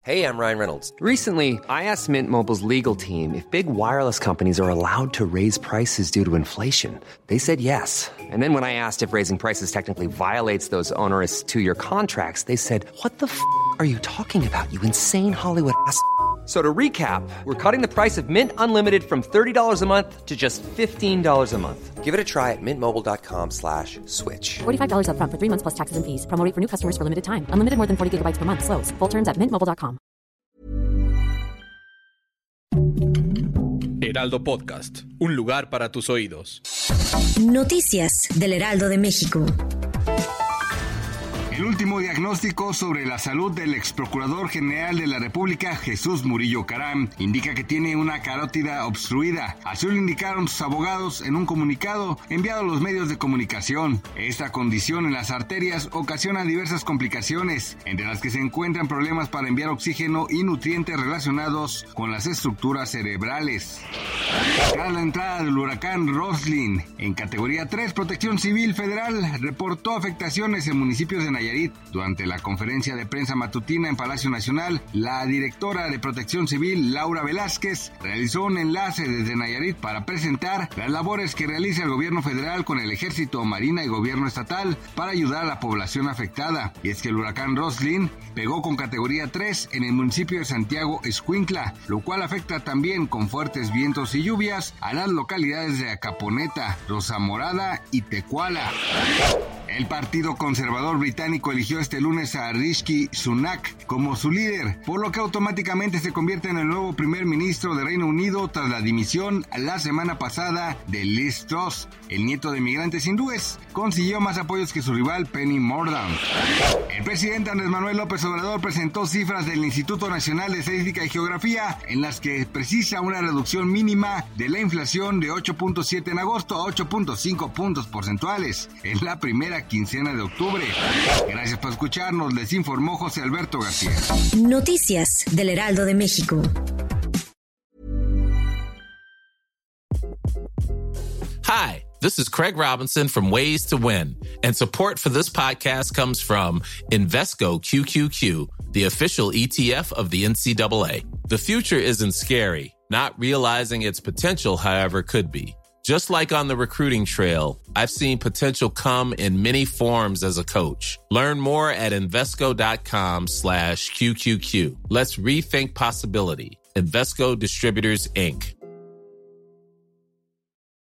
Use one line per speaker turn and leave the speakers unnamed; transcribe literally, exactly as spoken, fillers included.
Hey, I'm Ryan Reynolds.
Recently, I asked Mint Mobile's legal team if big wireless companies are allowed to raise prices due to inflation. They said yes. And then when I asked if raising prices technically violates those onerous two-year contracts, they said, what the f*** are you talking about, you insane Hollywood ass f- So to recap, we're cutting the price of Mint Unlimited from thirty dollars a month to just fifteen dollars a month.
Give it a try at mintmobile.com slash switch.
forty-five dollars up front for three months plus taxes and fees. Promo rate for new customers for limited time. Unlimited more than forty gigabytes per month. Slows full terms at mint mobile dot com.
Heraldo Podcast, un lugar para tus oídos.
Noticias del Heraldo de México.
El último diagnóstico sobre la salud del ex procurador general de la República, Jesús Murillo Caram, indica que tiene una carótida obstruida. Así lo indicaron sus abogados en un comunicado enviado a los medios de comunicación. Esta condición en las arterias ocasiona diversas complicaciones, entre las que se encuentran problemas para enviar oxígeno y nutrientes relacionados con las estructuras cerebrales. Tras la entrada del huracán Roslyn en categoría tres, Protección Civil Federal reportó afectaciones en municipios de Nayarit. Durante la conferencia de prensa matutina en Palacio Nacional, la directora de Protección Civil, Laura Velázquez, realizó un enlace desde Nayarit para presentar las labores que realiza el gobierno federal con el Ejército, Marina y gobierno estatal para ayudar a la población afectada. Y es que el huracán Roslyn pegó con categoría tres en el municipio de Santiago Escuintla, lo cual afecta también con fuertes vientos y lluvias a las localidades de Acaponeta, Rosa Morada y Tecuala. El Partido Conservador Británico eligió este lunes a Rishi Sunak como su líder, por lo que automáticamente se convierte en el nuevo primer ministro de Reino Unido tras la dimisión la semana pasada de Liz Truss. El nieto de migrantes hindúes consiguió más apoyos que su rival Penny Mordaunt. El presidente Andrés Manuel López Obrador presentó cifras del Instituto Nacional de Estadística y Geografía en las que precisa una reducción mínima de la inflación de ocho punto siete en agosto a ocho punto cinco puntos porcentuales en la primera quincena de octubre. Gracias por escucharnos, les informó José Alberto García.
Noticias del Heraldo de México.
Hi, this is Craig Robinson from Ways to Win, and support for this podcast comes from Invesco Q Q Q, the official E T F of the N C double A. The future isn't scary. Not realizing its potential, however, could be. Just like on the recruiting trail, I've seen potential come in many forms as a coach. Learn more at Invesco.com slash QQQ. Let's rethink possibility. Invesco Distributors, Incorporated.